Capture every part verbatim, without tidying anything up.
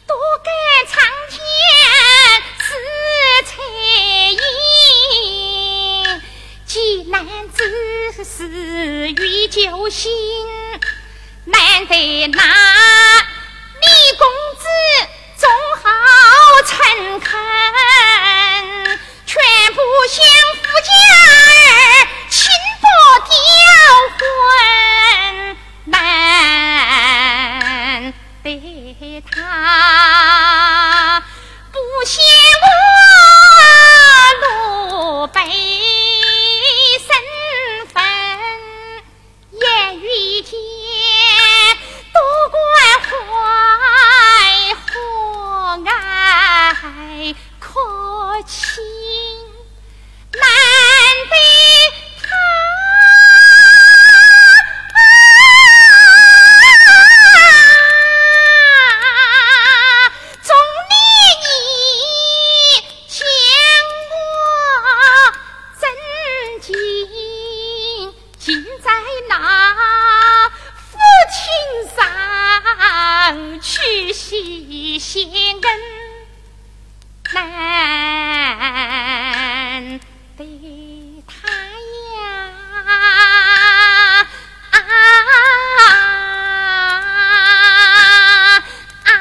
多感苍天是彩影，济南子是遇救星，难得那李公子总好诚恳，全部相夫家儿亲不吊魂，难得他不嫌我鲁北身份，言语间多关怀和蔼可亲，难得他总理你将我震惊，尽在那父亲上去洗先恩，难得他呀啊啊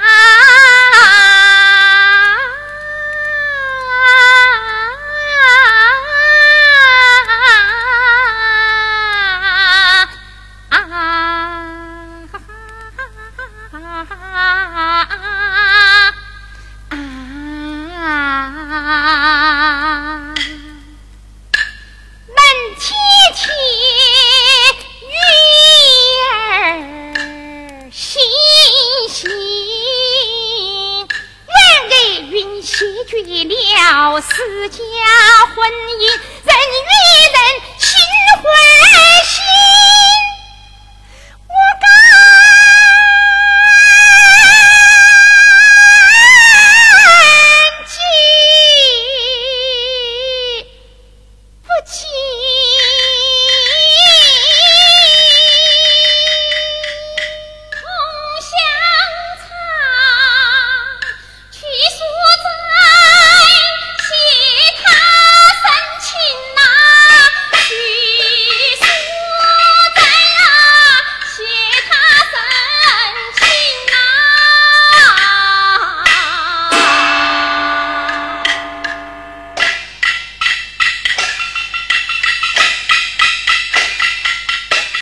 门贴贴鱼儿细细，然而云谢绝了私家婚姻，人与人心欢喜。